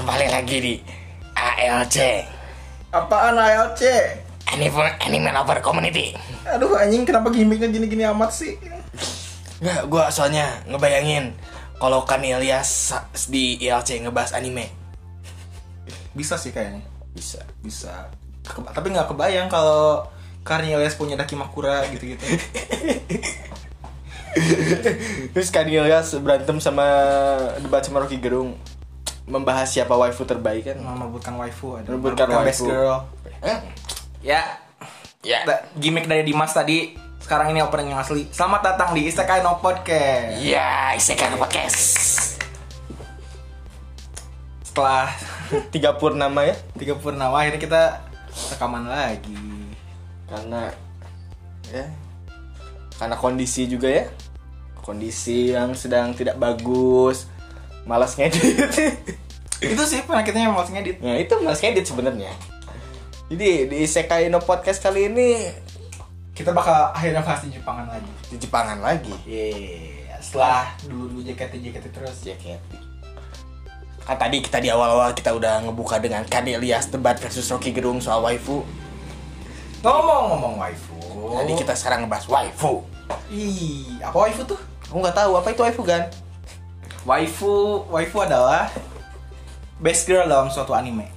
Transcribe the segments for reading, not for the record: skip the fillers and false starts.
kembali lagi di ALC. Apaan ALC? Anime Lover Community. Aduh anjing, kenapa gimmicknya gini-gini amat sih? Nggak, gue soalnya ngebayangin kalau kan Ilyas di ILC ngebahas anime. Bisa sih kayaknya. Bisa. Tapi nggak kebayang kalau Ilyas punya Dakimakura gitu-gitu. Terus kan Ilyas berantem sama debat sama Rocky Gerung, membahas siapa waifu terbaik kan? Merebutkan waifu, ada Merebutkan best waifu. girl. Ya. Gimmick dari Dimas tadi. Sekarang ini opening yang asli. Selamat datang di Isekai no Podcast. Ya, Isekai no Podcast. Setelah 3 purnama ya? 3 purnama akhirnya kita rekaman lagi. Karena kondisi juga ya. Kondisi yang sedang tidak bagus. Malas ngedit. Itu sih penyakitnya yang malas ngedit. Nah, itu malas ngedit sebenarnya. Jadi di Isekai no Podcast kali ini Kita bakal akhirnya bahas di Jepangan lagi. di Jepangan lagi. Setelah dulu JKT terus. Kan tadi kita di awal-awal kita udah ngebuka dengan Kan Ilyas debat versus Rocky Gerung soal waifu. Ngomong waifu. Jadi kita sekarang ngebahas waifu. Apa waifu tuh? Aku nggak tahu apa itu waifu kan? Waifu adalah best girl dalam suatu anime.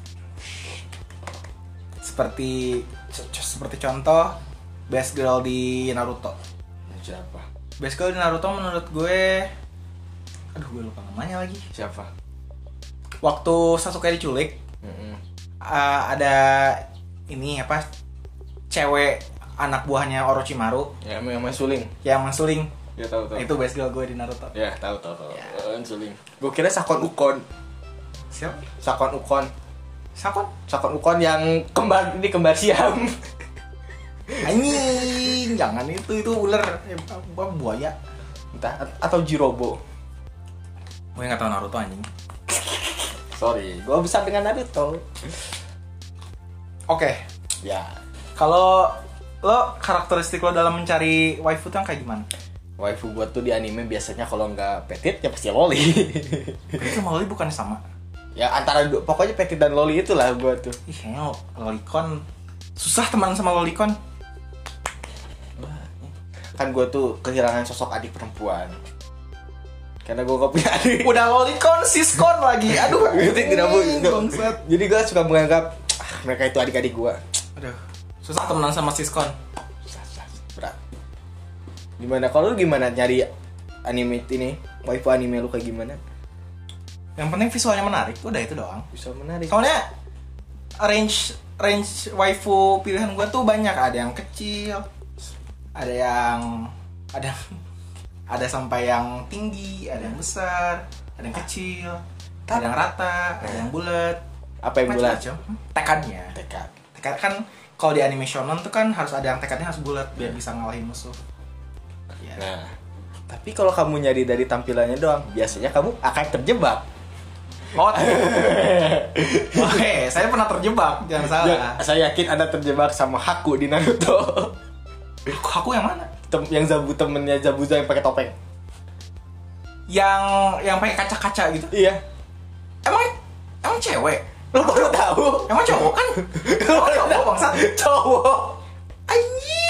Seperti contoh best girl di Naruto. Siapa? Best girl di Naruto menurut gue, aduh gue lupa namanya lagi. Siapa? Waktu Sasuke diculik, ada ini apa? Cewek anak buahnya Orochimaru Ya, yang suling. yang mensuling. Ya tahu. Itu best girl gue di Naruto. Ya tahu. Ya. Suling. Gue kira Sakon Ukon. Siapa? Sakon Ukon yang kembar siam. Anjing, jangan itu ular, buaya. Entah atau Jirobo. Gue nggak tahu Naruto anjing. Sorry, gue besar dengan Naruto. Oke, Ya, kalau lo karakteristik lo dalam mencari waifu tuh yang kayak gimana? waifu buat tuh di anime biasanya kalau nggak petit ya pasti loli. Itu sama Loli bukan sama? Ya antara pokoknya petit dan loli itulah gue tuh. Ih, kayaknya Lolicon susah teman sama Lolicon. Kan gue tuh kehilangan sosok adik perempuan karena gue gak punya adik. Udah Lolicon, siskon lagi. Aduh, bangsat. Jadi gue suka menganggap mereka itu adik-adik gue. Aduh, susah temenan sama siskon. Berat. Gimana kalau lu gimana nyari anime ini? Waifu anime lu kayak gimana? Yang penting visualnya menarik, udah itu doang. Bisa menarik. Soalnya range waifu pilihan gue tuh banyak. Ada yang kecil, ada sampai yang tinggi, ada yang besar, ada yang kecil, ada yang rata, ada yang bulat. Apa yang bulat? Macam-macam. Tekadnya. Tekad kan kalau di anime shonen tuh kan harus ada yang tekadnya harus bulat biar bisa ngalahin musuh. Ya. Nah, tapi kalau kamu nyari dari tampilannya doang, biasanya kamu akan terjebak. Oke, saya pernah terjebak, jangan salah. Ya, saya yakin Anda terjebak sama Haku di Naruto. Aku yang mana? Yang temennya Zabuza yang pakai topeng. Yang pakai kaca-kaca gitu. Iya. Emang cewek? Lo baru tahu? Emang cowok kan? Cowok bangsat. Cowok. Anjing.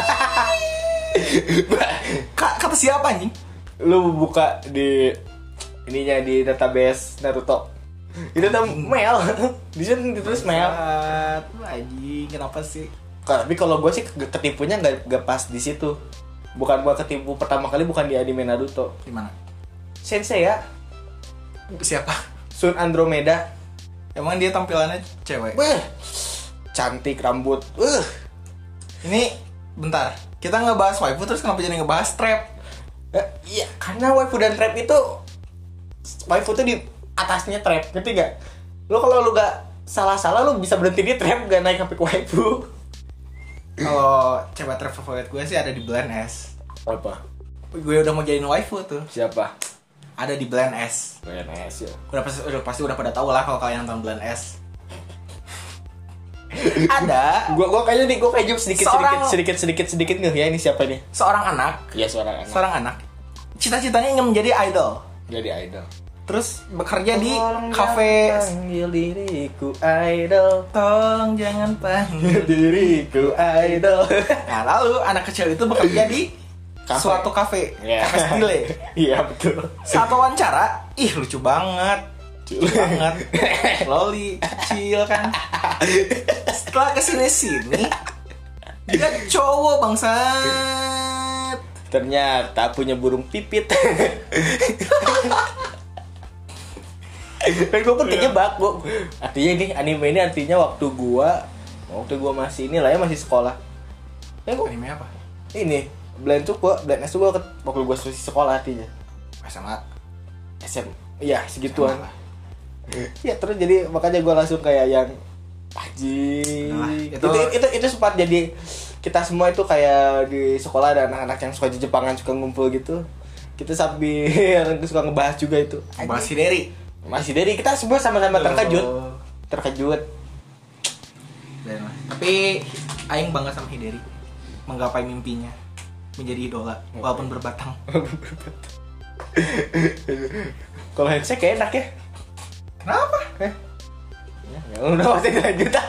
Kata siapa anjing? Lu buka di ininya di database Naruto. Itu tuh Mel. Di sini ditulis Mel. Anjing, kenapa sih? Tapi kalau gue sih ketipunya nggak pas di situ. Bukan gue ketipu pertama kali bukan di anime Naruto. Di mana? Sensei ya. Siapa? Sun Andromeda. Emang dia tampilannya cewek? Cantik rambut. Ini bentar. Kita ngebahas waifu terus kenapa jadi ngebahas trap? Iya, karena waifu dan trap itu waifu tuh di atasnya trap, ngerti gak? Lo kalau lu gak salah-salah lu bisa berhenti di trap gak naik sampai ke waifu. Kalau cewek trap favorit gue sih ada di Blend S. Apa? Gue udah mau jadiin waifu tuh. Siapa? Ada di Blend S. BNS ya. Udah pasti udah pada tahu lah kalau kalian nonton Blend S. Ada. Gue kayaknya sedikit nggak ya ini siapa nih? Seorang anak. Iya seorang anak. Seorang anak. Cita-citanya ingin menjadi idol. Jadi idol. Terus bekerja di cafe. Panggil diriku idol. Tolong jangan panggil Diriku idol. Nah lalu anak kecil itu bekerja di suatu kafe. Kafe stile. Iya betul. Saat wawancara, ih lucu banget. Lucu banget. Loli kecil kan. Setelah kesini-sini dia cowok bangsat. Ternyata punya burung pipit. Kan gue pentingnya baku. Artinya ini anime ini artinya waktu gua masih ini lah ya, masih sekolah. Anime apa? Ini Blind S tuh gua waktu gua masih sekolah artinya. SMA. SM. Iya, segituan. SMA. Ya terus jadi makanya gua langsung kayak yang Nah, itu sempat jadi kita semua itu kayak di sekolah ada anak-anak yang suka Jepangan suka ngumpul gitu. Kita sambil suka ngebahas juga itu. Bahas Hideri. Masih dari kita semua sama-sama terkejut. Tapi aing bangga sama Hideri menggapai mimpinya menjadi idola walaupun berbatang. Kalau handshake kayak enak ya. Kenapa? Ya udah pasti lanjut ah.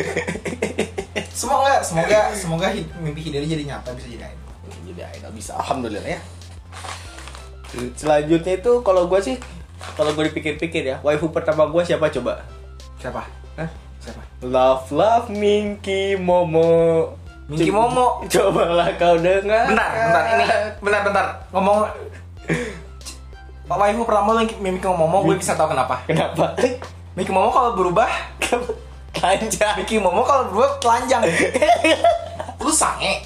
Semoga mimpi Hideri jadi nyata, bisa jadi idol. Jadi idol bisa, alhamdulillah ya. Selanjutnya itu kalau gue dipikir-pikir ya, waifu pertama gue siapa coba? Siapa? Hah? Siapa? Love Minky Momo. Minky Momo. Cobalah kau dengar. Bentar. Ngomong Pak waifu pertama Minky Momo, gue bisa tahu kenapa. Kenapa? Minky Momo kalau berubah Telanjang. Minky Momo kalau berubah telanjang. Lu sange.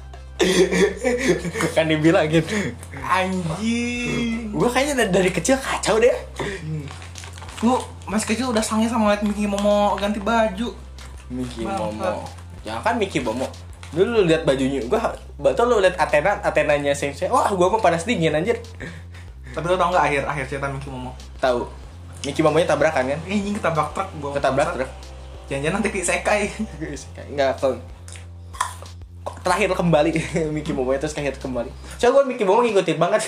Kan dibilang gitu. Anjing. Gue kayaknya dari kecil kacau deh. Lu masih kecil udah sange sama liat Minky Momo ganti baju. Minky Momo. Jangan kan Minky Momo. Dulu lu lihat bajunya. Betul lu lihat Athenanya Sensei. Wah, gua mah panas dingin anjir. Tapi lu tau enggak akhir cerita Minky Momo? Tahu. Minky Momonya tabrakan kan? Anjing ketabrak truk gua. Ketabrak truk. Jangan-jangan nanti disekai. Enggak, terakhir kembali Minky Momo terus akhir kembali. Coba gue Minky Momo ngikutin banget.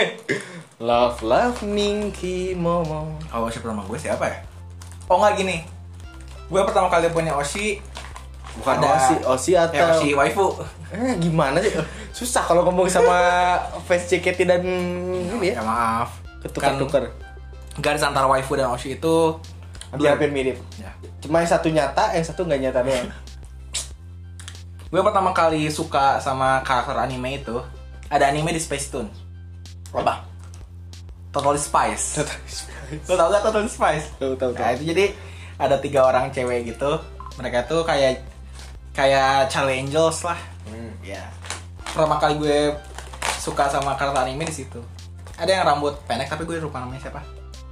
Love Minky Momo. Oh, Oshi pertama gue siapa ya? Oh enggak gini. Gue pertama kali punya Oshi bukan Oshi atau Oshi waifu. Gimana sih? Susah kalau ngomong sama fans JKT dan ini Ya maaf. Ketukar-tukar. Garis antara waifu dan Oshi itu Hampir mirip. Ya. Cuma yang satu nyata, yang satu nggak nyata doang. Gue pertama kali suka sama karakter anime itu ada anime di Space Tune. Apa? Totally Spice. Lo tau gak Totally Spice? Tahu. Nah itu jadi ada 3 orang cewek gitu. Mereka tuh kayak Charlie Angels lah. Ya. Pertama kali gue suka sama karakter anime di situ. Ada yang rambut pendek tapi gue lupa namanya siapa.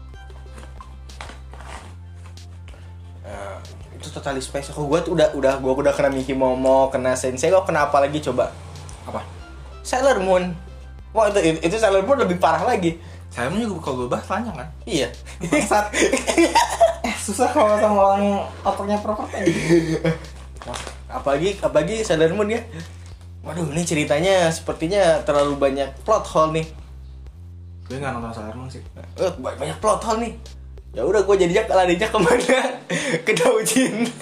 Itu Totally Spice. Gue tuh udah kena Minky Momo, kena Sensei. Kok kena apa lagi coba? Apa? Sailor Moon. Wah itu Sailor Moon lebih parah lagi. Saya juga kalau gue bahas panjang kan. Iya. Bangsat. Susah kalau sama orang otaknya proper kan. Apalagi Sailor Moon ya. Waduh, ini ceritanya sepertinya terlalu banyak plot hole nih. Gue nggak nonton Sailor Moon sih. Banyak plot hole nih. Ya udah gue jadinya larinya kemana? Ke Doujin.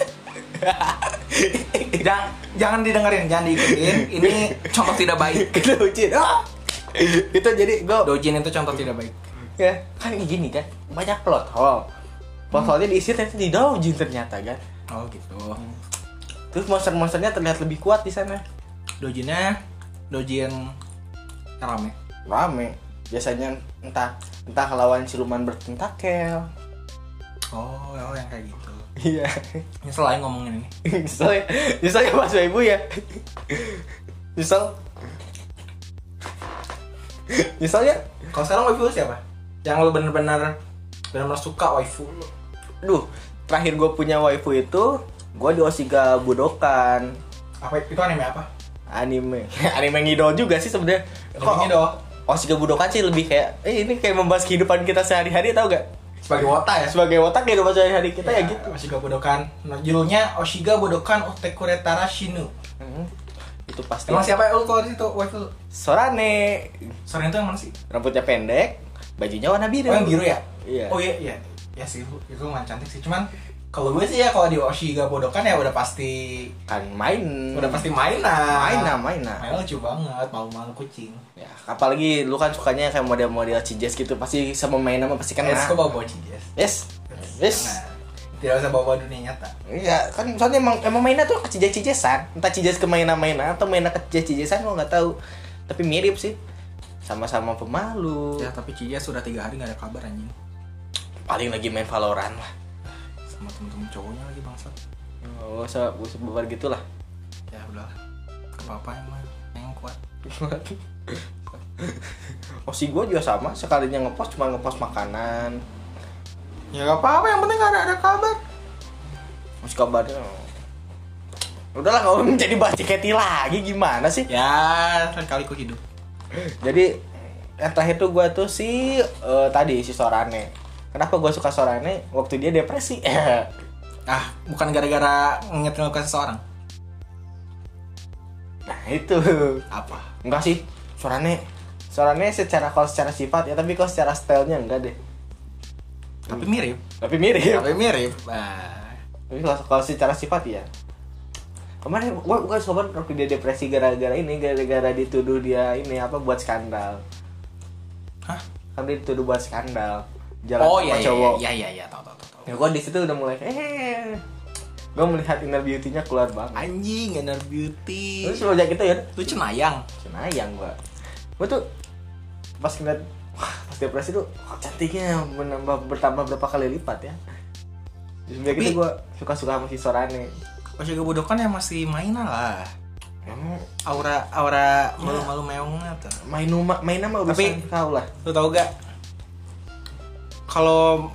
Jangan didengerin, jangan diikutin. Ini contoh tidak baik. Ke Doujin. Itu jadi gue Doujin itu contoh tidak baik. Ya kan gini kan, banyak plot hole. Plot hole-nya diisi ternyata di Doujin ternyata kan. Oh gitu. Terus monster-monsternya terlihat lebih kuat di sana. Doujin rame. Biasanya entah lawan siluman bertentakel. Oh, yang kayak gitu. Iya. Nyesel aja ngomongin ini. Nyesel ya Mas Ibu ya. Nyesel ya. Kalau sekarang waifu lu siapa? Yang lu bener-bener suka waifu lu? Duh, terakhir gue punya waifu itu gue di Oshiga Budokan. Apa itu anime apa? Anime ngidol juga sih sebenarnya. Kok ngidol? Oshiga Budokan sih lebih kayak ini kayak membahas kehidupan kita sehari-hari, tau gak? Sebagai wota ya? Sebagai wota kehidupan sehari-hari kita ya gitu. Oshiga Budokan. Nah, judulnya Oshiga Budokan Utekuretara Shinu. Itu pasti. Emang siapa ya lu kalau di situ waifu lu? Sorane. Sorane itu yang mana sih? Rambutnya pendek, Bajunya warna biru. Oh yang biru ya? Iya. Oh iya. Ya sih itu lumayan cantik sih. Cuman kalau gue sih ya kalau di Oshiga Bodokan ya udah pasti Kan main. main lah. Main. Main lucu banget, malu-malu kucing. Ya, apalagi lu kan sukanya kayak model-model cijes gitu, pasti sama main sama pasti kan. Kok bawa cijes? Yes. Nah, tidak usah bawa dunia nyata. Iya, kan soalnya emang mainnya tuh ke cijes-cijesan. Entah cijes ke mainan-mainan atau mainan ke cijes-cijesan gua enggak tahu. Tapi mirip sih. Sama-sama pemalu. Ya tapi Cija sudah 3 hari gak ada kabar anjing. Paling lagi main Valorant lah. Sama temen-temen cowoknya lagi bangsat. Oh, usah bubar gitu lah. Ya udahlah. Apa-apa yang kuat. Oh si gue juga sama, sekalinya ngepost cuma ngepost makanan. Ya gak apa-apa, yang penting gak ada kabar. Masih kabarnya. Udahlah kalau menjadi bahas JKT lagi gimana sih? Ya, kali ku hidup. Jadi yang terakhir tuh gue tuh tadi si Sorane. Kenapa gue suka Sorane? Waktu dia depresi. Bukan gara-gara ngingetin ke seseorang. Nah itu. Apa? Enggak sih. Sorane secara sifat ya, tapi kalau secara stylenya enggak deh. Tapi mirip. Tapi mirip. Nah, Tapi kalau secara sifat ya. Kemarin gue sobat waktu dia depresi gara-gara dituduh dia buat skandal. Hah? Kan dia dituduh buat skandal. Jalan sama iya, cowok. Iya, tahu. Ya gue di situ udah mulai gue melihat inner beauty-nya keluar banget. Anjing, inner beauty. Terus sejak itu ya, Lu cenayang. gue tuh pas ngeliat pas depresi tuh cantiknya bertambah berapa kali lipat ya. Terus sejak itu gue suka sama si Sorane. Oshiga Bodokan ya masih mainan lah. Aura malu-malu meongnya tuh. Main sama urusan Tapi kau lah. lu tau gak? Kalau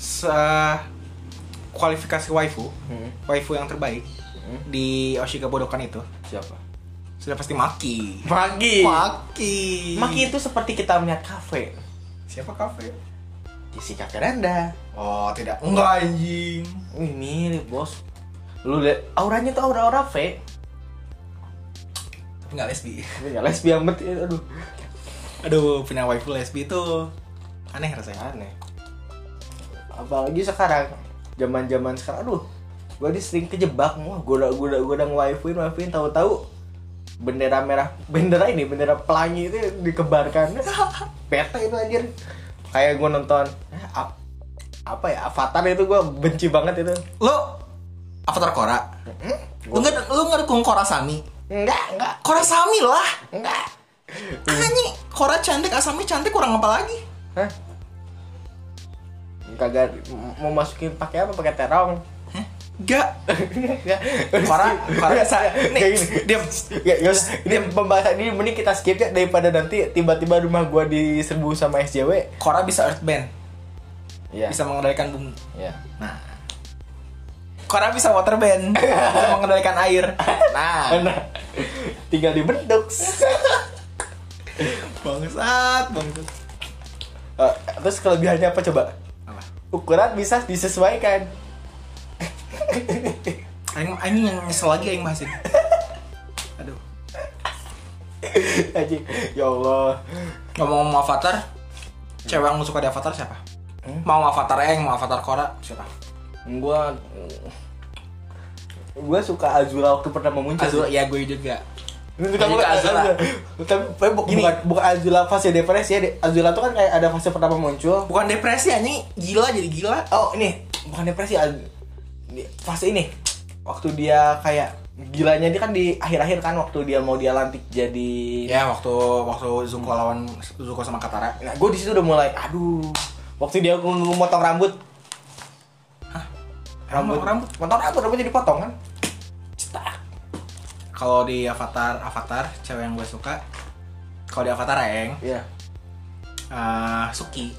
kualifikasi waifu yang terbaik di Oshiga Bodokan itu Siapa? sudah pasti Maki. Maki itu seperti kita melihat kafe. Siapa kafe? Jessica Veranda. Oh tidak, enggak anjing. Wih mirip bos. Lu lihat auranya tuh aura V. Tapi nggak lesbi. Tapi nggak lesbi amat. Aduh, punya waifu lesbi itu aneh rasanya. Aneh. Apalagi sekarang, zaman sekarang, aduh, gue sering kejebak, gue udah ngewaifuin, tahu-tahu bendera pelangi itu dikebarkan, peta itu anjir, kayak gue nonton, Avatar itu gue benci banget itu. Lo Avatar Korra? Lu nggak dukung Korra Sami? Enggak. Korra Sami lah. Enggak. Anjing, Korra cantik, Asami cantik, kurang apa lagi? Hah? Kagak mau masukin pakai apa? Pakai terong. Enggak. Korra bisa. Nih, diam. Ini pembahasan ini mending kita skip ya daripada nanti tiba-tiba rumah gua diserbu sama SJW. Korra bisa earthbend. Iya. Bisa mengendalikan bumi. Iya. Nah. Korra bisa waterbend. Bisa mengendalikan air. Nah. Tinggal dibentuk. Bangsat. Terus kelebihannya apa coba? Apa? Ukuran bisa disesuaikan. Aing yang nyesel lagi aing bahas ini. Aduh. Anjing. Ya Allah. Ngomong-ngomong Avatar, cewek yang lu suka di Avatar siapa? Mau Avatar Aang, mau Avatar Korra, siapa? Gua suka Azula waktu pertama muncul. Azula, ya gue juga. Tapi bukan Azula fase depresi ya. Azula tuh kan kayak ada fase pertama muncul. Bukan depresi, anjing, gila jadi gila. Oh, ini bukan depresi. Fase ini waktu dia kayak gilanya dia kan di akhir-akhir kan waktu dia mau dia lantik jadi waktu Zuko lawan Zuko sama Katara. Nah, gue di situ udah mulai waktu dia memotong rambut. Hah? Rambutnya dipotong kan? Cetak. Kalau di Avatar cewek yang gue suka, kalau di Avatar Aang, Iya. Suki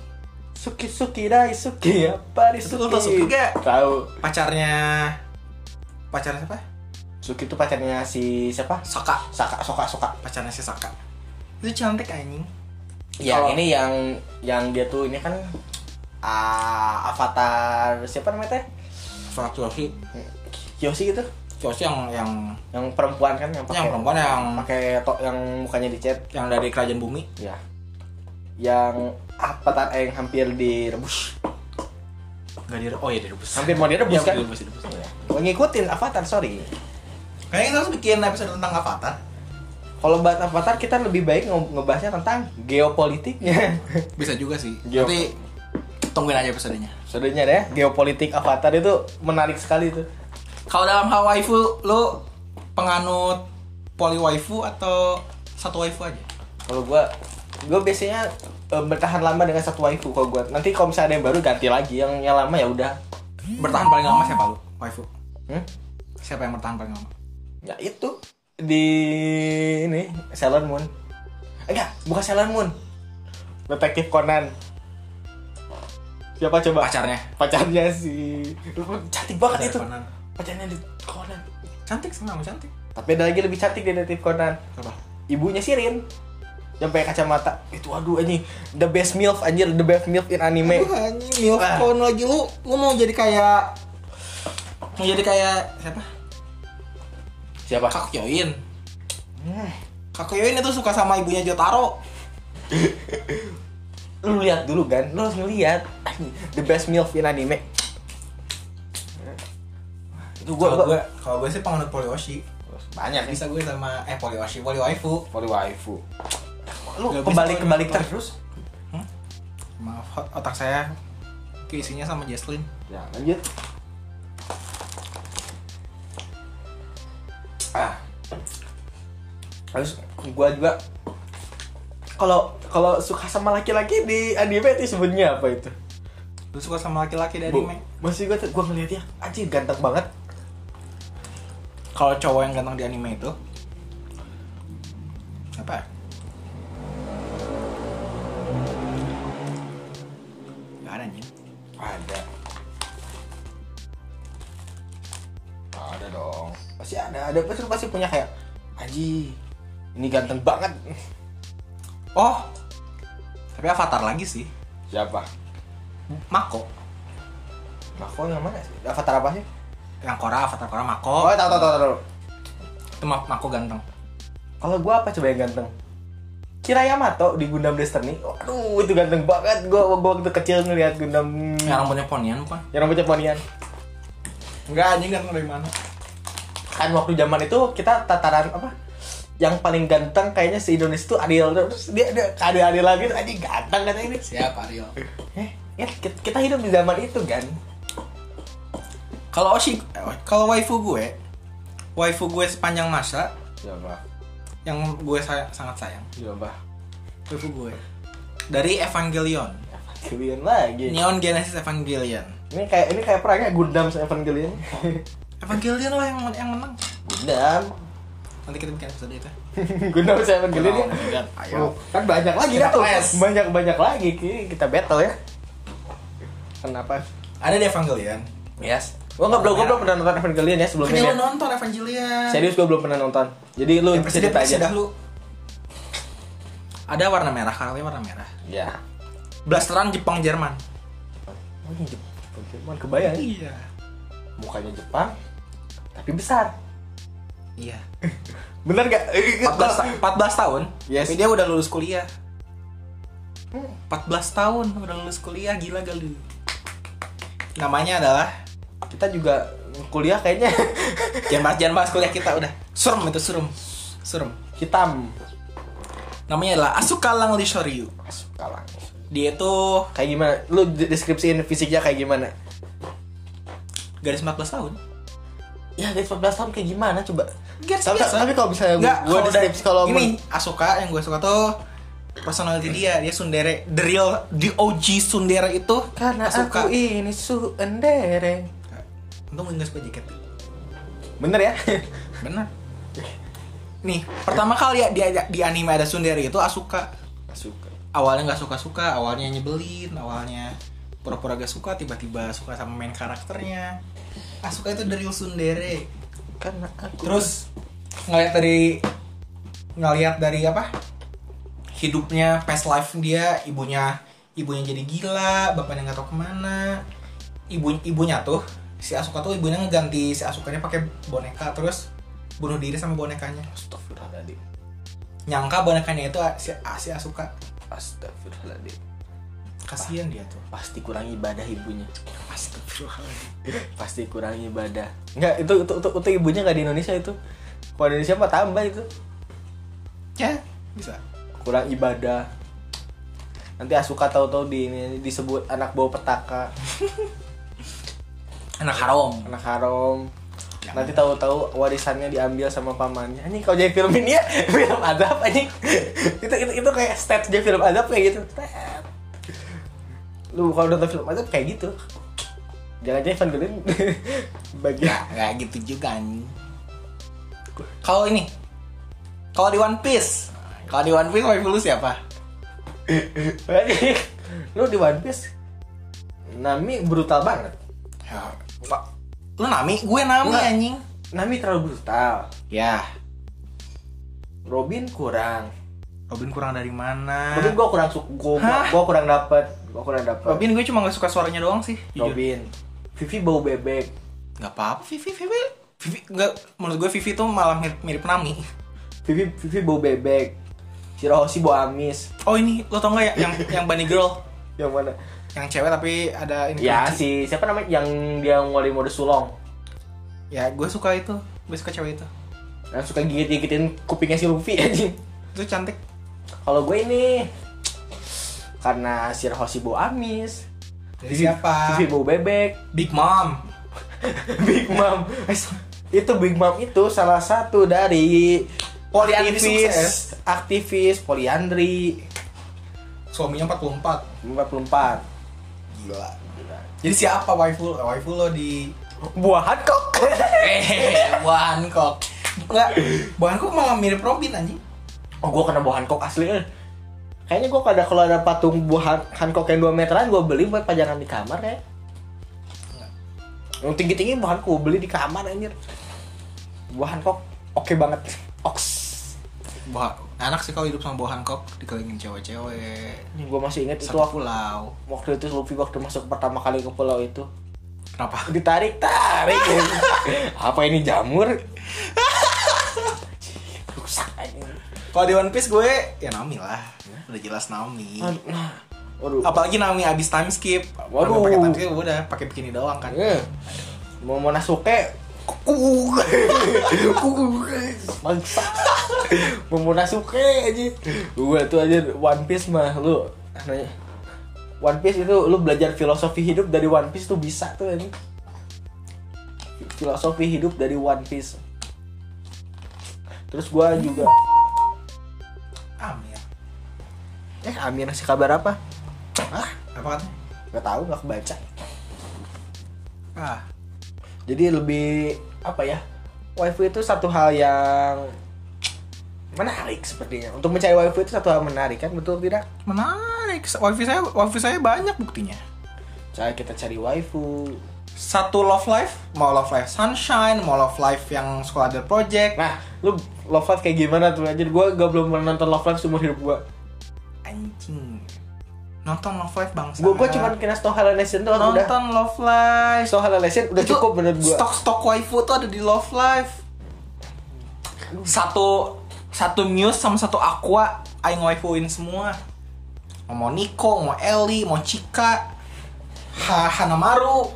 apa di Itu lu tau Suki gak? Tahu. Pacarnya siapa? Suki itu pacarnya si siapa? Sokka. Pacarnya si Sokka. Itu cantik anjing. Ya, ini yang dia tuh ini kan Avatar siapa namanya teh? Avatar Kyoshi gitu. Kyoshi yang Perempuan kan yang pakai perempuan yang pakai yang mukanya dicat yang dari kerajaan bumi. Ya. yang Avatar yang hampir direbus. Enggak oh ya direbus. Hampir mau direbus kan? Direbus. Gue ngikutin Avatar, sorry. Kayaknya kita harus bikin episode tentang Avatar. Kalau bahas Avatar kita lebih baik ngebahasnya tentang geopolitiknya. Bisa juga sih. Geo- Nanti tungguin aja episodenya. Sebenarnya deh, geopolitik Avatar itu menarik sekali tuh. Kalau dalam hal waifu, lu penganut poly waifu atau satu waifu aja? Kalau gue biasanya bertahan lama dengan satu waifu. Kalau gue nanti kalau misalnya ada yang baru ganti lagi, yang lama ya udah. Bertahan paling lama siapa lu? Waifu. Siapa yang bertahan paling lama? Ya itu di ini Sailor Moon. Enggak, bukan Sailor Moon. Detektif Conan. Siapa coba? Pacarnya si cantik banget itu. Conan. Pacarnya di Conan. Cantik sih, memang cantik. Tapi ada lagi lebih cantik di Detektif Conan. Apa? Ibunya Shirin. Yang pakai kacamata. Itu aduh anjing, the best MILF anjir, the best MILF in anime. Aduh anjing, milfon lagi lu mau jadi kayak siapa? Siapa? Kakyoin. Kakyoin itu suka sama ibunya Jotaro. Lu lihat dulu kan, lu harus ngeliat the best MILF in anime. Itu Kalau gue sih penganut polyoshi. banyak Bisa gue sama polyoshi, polywaifu. Poli waifu. Lu Gak bisa kebalik kalau terus. Maaf, otak saya keisinya sama Jesslyn. Ya, lanjut. Terus gua juga kalau suka sama laki-laki di anime itu sebenarnya apa itu? Lu suka sama laki-laki dari anime? Masih gua ngeliatnya anjir ganteng banget. Kalau cowok yang ganteng di anime itu apa? Gak ada anjing. Ada dong. Pasti ada pasti punya kayak anjir ini ganteng banget. Oh, tapi Avatar lagi sih. Siapa? Mako. Mako yang mana sih? Avatar apa sih? Yang Avatar Korra Mako. Oh, tahu. Itu Mako ganteng. Kalau gua apa coba yang ganteng? Kira Yamato di Gundam Destiny. Aduh, itu ganteng banget. Gua waktu kecil ngeliat Gundam Yang rambutnya ponian bukan? yang rambutnya ponian. Enggak, anjing ganteng dari mana? Kan waktu zaman itu kita tataran apa? Yang paling ganteng kayaknya se Indonesia tuh Ariel. Terus dia Ariel lagi tuh anjing ganteng kan ini. Siapa Ariel? Ya kita hidup di zaman itu kan. Kalau waifu gue sepanjang masa Siapa? yang gue sangat sayang. Siapa? Waifu gue dari Evangelion. Evangelion lagi. Neon Genesis Evangelion. Ini kayak perangnya Gundam sama Evangelion. Evangelion lah yang menang. Gundam. Nanti kita bikin episode itu. Gundam sama Evangelion ya. Ayo. Kan banyak lagi Kita tuh. clash. Banyak lagi. Kita battle ya. Kenapa? Ada di Evangelion. Yes. Gua belum pernah nonton Evangelion ya sebelumnya. Kan Ya. lu nonton Evangelion. Serius gua belum pernah nonton. Jadi lu cerita aja. Dah lu. Ada warna merah, karakternya warna merah. Ya. Blasteran Jepang Jerman. Oh ini Jepang kebayang. Iya. Mukanya Jepang tapi besar. Iya. Bener gak? 14 tahun. Yes. Tapi dia udah lulus kuliah. 14 tahun udah lulus kuliah, gila gak lu? Namanya adalah Kita juga kuliah kayaknya jangan bahas kuliah kita udah. Surem. hitam. Namanya adalah Asuka Langley Shoryu. Kalah. Dia tuh Kayak gimana? Lu deskripsiin fisiknya kayak gimana? garis 14 tahun. Ya guys 14 tahun kayak gimana coba? Garis Tapi biasa. kalau misalnya Enggak, gua deskripsi kalau ini Asuka yang gue suka tuh personality dia tsundere, the OG tsundere itu karena Asuka. aku ini tsundere. Untung gue gak suka jaket. Bener ya? Bener. Nih, pertama kali ya di anime ada tsundere itu Asuka. Suka. Awalnya nggak suka-suka, awalnya nyebelin, awalnya pura-pura gak suka, tiba-tiba suka sama main karakternya. Asuka itu the real tsundere. Karena aku Terus ngelihat dari apa? Hidupnya, past life dia, ibunya jadi gila, bapaknya nggak tahu kemana. Ibunya tuh si Asuka tuh ibunya ngeganti si Asukanya pakai boneka, terus bunuh diri sama bonekanya. Astagfirullahaladzim. Nyangka bonekanya itu si Asuka. Astagfirullahaladzim. Kasihan dia tuh. Pasti kurang ibadah ibunya. Astagfirullahaladzim. Pasti kurang ibadah. Enggak, itu ibunya nggak di Indonesia itu. Kalau di Indonesia mah tambah itu. Ya, bisa. Kurang ibadah. Nanti Asuka tahu-tahu disebut anak bawa petaka, Anak haram. anak haram. Nanti tahu-tahu warisannya diambil sama pamannya. Anjing kalau jadi film ini ya film azab anjing. Itu kayak stats jadi film azab kayak gitu. Lu kalau nonton film azab kayak gitu. Jangan-jangan Evangelion bagian Nggak gitu juga anjing. Kalau ini, kalau di One Piece waifu lu siapa? Lu di One Piece Nami brutal banget. Ya, lu Nami, gue Nami Nggak. anjing. Nami terlalu brutal. Ya, Robin kurang. Robin kurang dari mana? Robin gua kurang gua kurang dapet. Robin gue cuma gak suka suaranya doang sih. Jujur. Robin. Vivi bau bebek. Gak apa-apa Vivi nggak, menurut gue Vivi tuh malah mirip Nami. Vivi bau bebek. Shirahoshi bau amis. Oh ini lo tau nggak ya yang Bunny Girl, Yang mana? yang cewek tapi ada ini Ya kunci. siapa namanya yang dia nguli mode sulong. Ya gue suka itu, gue suka cewek itu. Yang suka gigit-gigitin kupingnya si Luffy anjing. Itu cantik. Kalau gue ini karena Shirahoshi bau amis. Dari siapa? Vivi bau bebek. Big Mom. Big Mom. Itu Big Mom itu salah satu dari Poliandri sukses. aktivis poliandri Suaminya 44. 44. Gila. Jadi siapa waifu lo di Buah Hancock. Buah Hancock? Enggak, Buah Hancock malah mirip Robin anjing. Oh, gue kena Buah Hancock asli. Kayaknya gue kalau ada patung Buah Hancock yang 2 meteran gue beli buat pajangan di kamar ya. Yang tinggi-tinggi Buah Hancock gue beli di kamar anjir. Buah Hancock oke banget. Oks. Enak sih kalau hidup sama Buah Hancock, dikelilingin cewek-cewek. Ini gue masih inget itu Satu pulau. waktu itu Luffy waktu masuk pertama kali ke pulau itu. Kenapa? Ditarik. Apa ini jamur? Rusak aja. Kalau di One Piece gue ya Nami lah. Udah jelas Nami. Waduh. Apalagi Nami abis time skip. Waduh. Pakai time skip udah pakai bikini doang kan. Mau Momonosuke bangsa. Momonosuke aja. Gue tuh aja One Piece mah lu nanya. One Piece itu lu belajar filosofi hidup dari One Piece tuh bisa tuh ini. Filosofi hidup dari One Piece. Terus gue juga Amir. Amir ngasih kabar apa? Apa katanya? Gak tahu, gak kebaca. Ah, Jadi lebih apa ya? Waifu itu satu hal yang menarik sepertinya. Untuk mencari waifu itu satu hal menarik kan, betul tidak? menarik. Wifi saya banyak buktinya. Cara kita cari waifu. Satu love life, mau love life sunshine, mau love life yang sekolah ada project. Nah, lu Love Live kayak gimana tuh? Anjir, gue belum pernah nonton Love Live seumur hidup gue. Anjing. Nonton love life bangsa. Gue cuma kena Snow Halal Nation doang udah. nonton love life. Snow Halal Nation udah Itu cukup menurut gue. Stok waifu tuh ada di love life. Satu Muse sama satu Aqua aing waifuin semua. Mau Nico, mau Ellie, mau Chika, Hanamaru,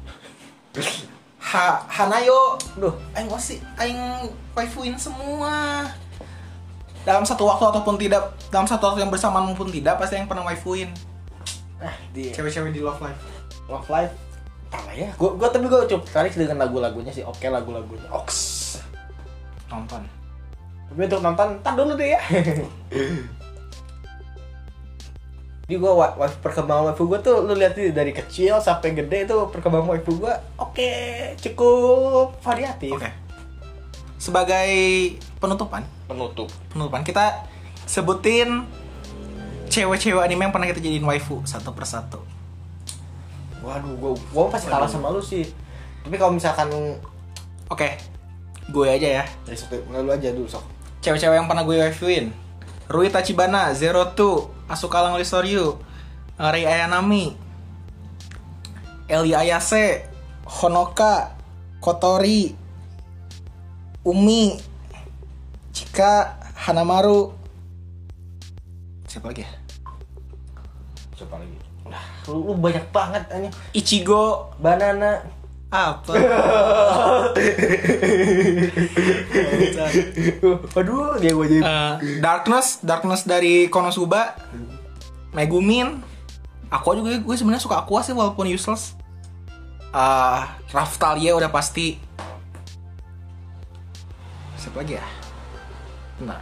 Hanayo. Duh, Aing waifuin semua. Dalam satu waktu ataupun tidak, dalam satu waktu yang bersamaan maupun tidak, pasti yang pernah waifuin di cewek-cewek di love life. Love Live apa ya? Gue tapi gue cukup tertarik dengan lagu-lagunya sih. Oke, lagu-lagunya. Oks. Nonton. Tapi untuk nonton, ntar dulu deh ya. Jadi gue perkembangan waifu gue tuh lu lihat dari kecil sampai gede itu perkembangan waifu gue oke, cukup variatif. Oke. Sebagai penutupan kita sebutin cewek-cewek anime yang pernah kita jadiin waifu satu persatu. Waduh, gue pasti kalah sama lu sih. Tapi kalau misalkan Oke. Gue aja ya. dari satu, lu aja dulu sok. Cewek-cewek yang pernah gue waifuin. Rui Tachibana, Zero Two, Asuka Langoli Soryu, Rei Ayanami, Eli Ayase, Honoka, Kotori, Umi, Chika, Hanamaru. Siapa lagi ya? lu banyak banget anjing. Ichigo Banana. apa? Aduh, dia gue jadi. Darkness dari Konosuba. Megumin. Aqua juga gue sebenarnya suka Aqua sih walaupun useless. Raftalia udah pasti. Siapa lagi ya? Nah.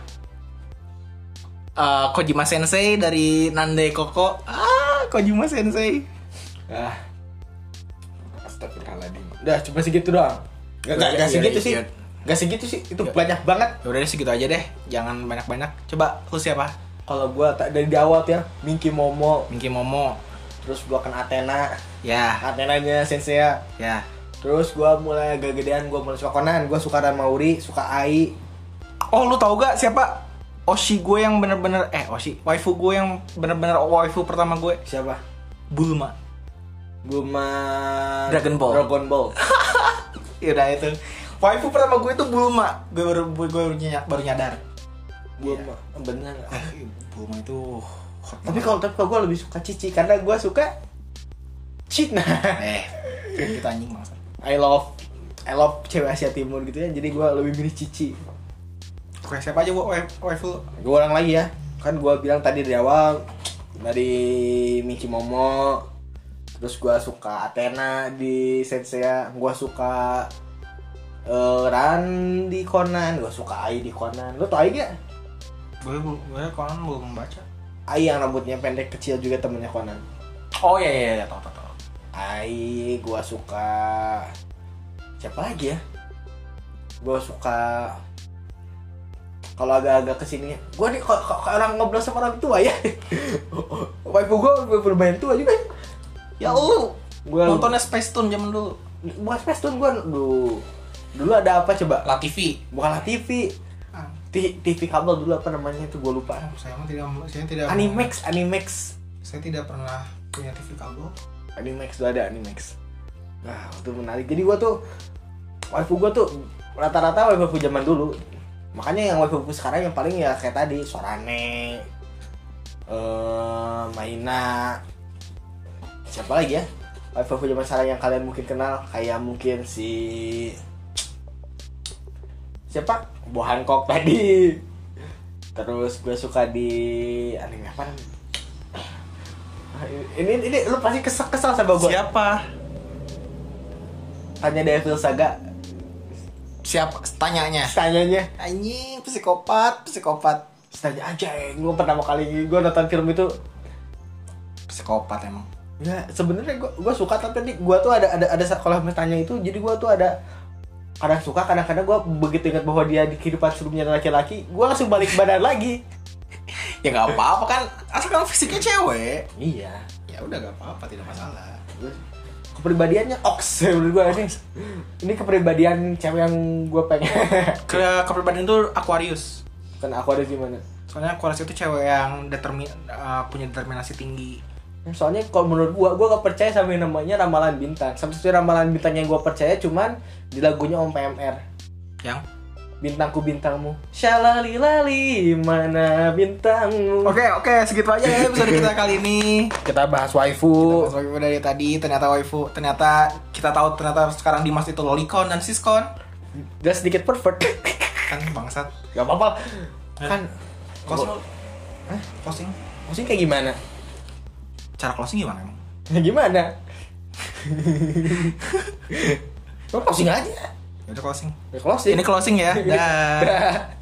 Kojima Sensei dari Nande Koko. Kojima Sensei. Astagfirullahaladzim. Udah cuma segitu doang. Gak segitu sih. Gak segitu sih. Itu banyak banget. Ya udah deh segitu aja deh. Jangan banyak-banyak. Coba lu siapa? Kalau gua dari di awal tuh ya, Minky Momo. Terus gua kena Athena. Ya. Athenanya Sensei. Ya. Terus gua mulai agak gedean, gua mulai suka Conan, gua suka Ranmauri, suka Ai. Oh, lu tahu gak siapa Oshi gue yang bener-bener Oshi waifu gue yang bener-bener waifu pertama gue? Siapa? Bulma. Dragon Ball. Ya udah itu. Waifu pertama gue itu Bulma. Gue baru nyadar. Bulma, bener. Bulma itu hot Tapi kalau gue lebih suka Cici karena gue suka Cina. kita anjing maksud. I love cewek Asia Timur gitu ya. Jadi gue lebih milih Cici. Oke, siapa aja waifu? Gue ulang lagi ya. Kan gue bilang tadi dari awal dari Minky Momo. Terus gue suka Athena di Sensei. Gue suka Ran di Conan. Gue suka Ai di Conan. Lo tau Ai gak? Gue Conan belum membaca. Ai yang rambutnya pendek kecil juga temennya Conan. Oh iya tahu. Ai gue suka. Siapa lagi ya? Gue suka. Kalau agak-agak kesini, gue nih orang ngobrol sama orang tua ya. Waifu gue bermain tua juga. Ya Allah, gue nontonnya Space Tune zaman dulu. Bukan Space Tune gue dulu ada apa coba? La TV. Bukan La TV. TV kabel dulu apa namanya itu gue lupa. Saya tidak. Animax. Saya tidak pernah punya TV kabel. Animax tuh ada Animax. Nah itu menarik. Jadi gue tuh waifu gue tuh rata-rata waifu zaman dulu. Makanya yang waifu sekarang yang paling ya kayak tadi Sorane, Maina, siapa lagi ya? Waifu zaman sekarang yang kalian mungkin kenal kayak mungkin si siapa? Bo Hancock tadi. Terus gue suka di anime apa? Ini lu pasti kesal sama gue. Siapa? Tanya Devil Saga. Siapa? Tanyanya. Anjing, psikopat. Tanya aja, gue pertama kali gue nonton film itu psikopat emang. ya sebenarnya gue suka, tapi tadi gue tuh ada kalau tanya itu, jadi gue tuh ada kadang suka, kadang-kadang gue begitu ingat bahwa dia di kehidupan sebelumnya laki-laki, gue langsung balik badan lagi. Ya nggak apa-apa kan, asalkan fisiknya cewek. Iya, Ya udah nggak apa-apa, tidak masalah. Kepribadiannya oks menurut gue ini kepribadian cewek yang gue pengen. Kepribadian itu Aquarius. Kan aku ada gimana? Soalnya Aquarius itu cewek yang punya determinasi tinggi. Soalnya kalau menurut gue gak percaya sama yang namanya ramalan bintang. Satu-satunya ramalan bintang yang gue percaya cuman di lagunya Om PMR. Yang? Bintangku bintangmu, syalalilali mana bintangmu. Oke, segitu aja ya episode kita kali ini. Kita bahas waifu. Dari tadi ternyata waifu, ternyata kita tahu ternyata sekarang Dimas itu lolicon dan siskon. Dia sedikit pervert. Kan bangsat. Gak apa-apa. Kan Closing. Closing kayak gimana? Cara closing gimana emang? Gimana? Lo closing aja. Ya udah closing. Closing. Ini closing ya. Dah.